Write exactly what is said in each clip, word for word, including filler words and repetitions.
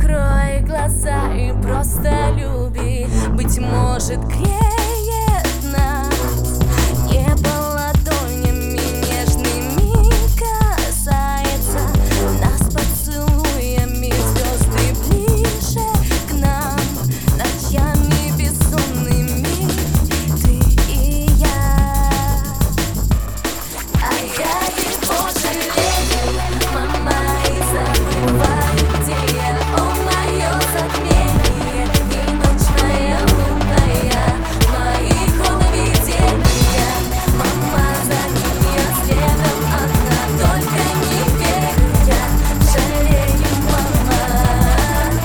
Закрой глаза и просто люби. Быть может, греет нас небо ладонями нежными, касается нас поцелуями. Звезды ближе к нам, ночами бессонными, ты и я. А я его жалею, мама, и забываю, где я. О, мое затмение и ночная лунная, мои хроновидения. Мама, за ним я следом одна, только не верю я, жалею, мама.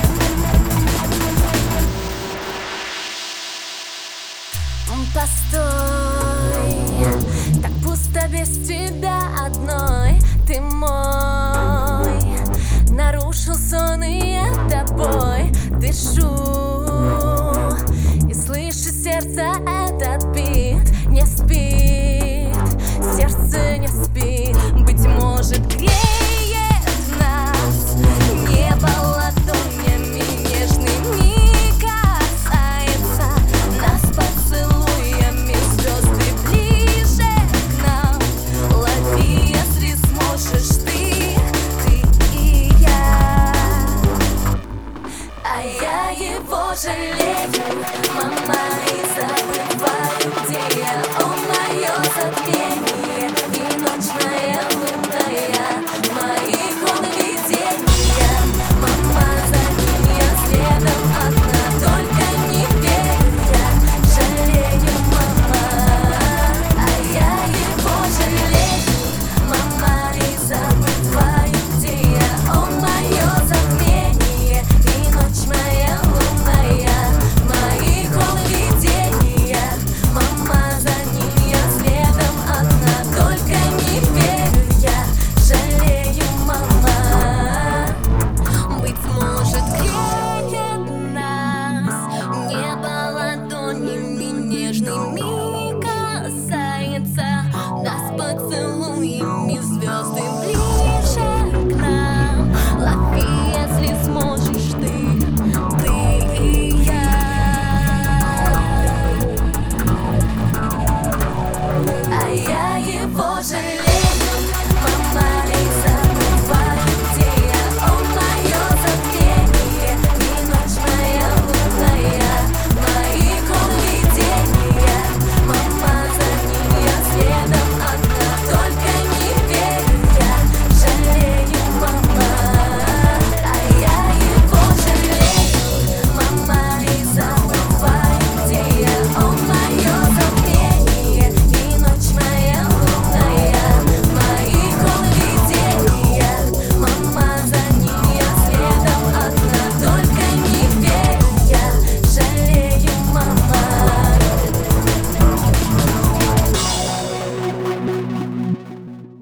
Постой, так пусто без тебя одной. Ты мой, нарушил сон, и я тобой дышу. И слышу сердце этот бит, не спит, сердце не спит. Быть может, греет нас небо ладонями нежными, касается нас поцелуями. Звезды ближе к нам, лови, если сможешь ты, ты и я. А я его жалею, мама.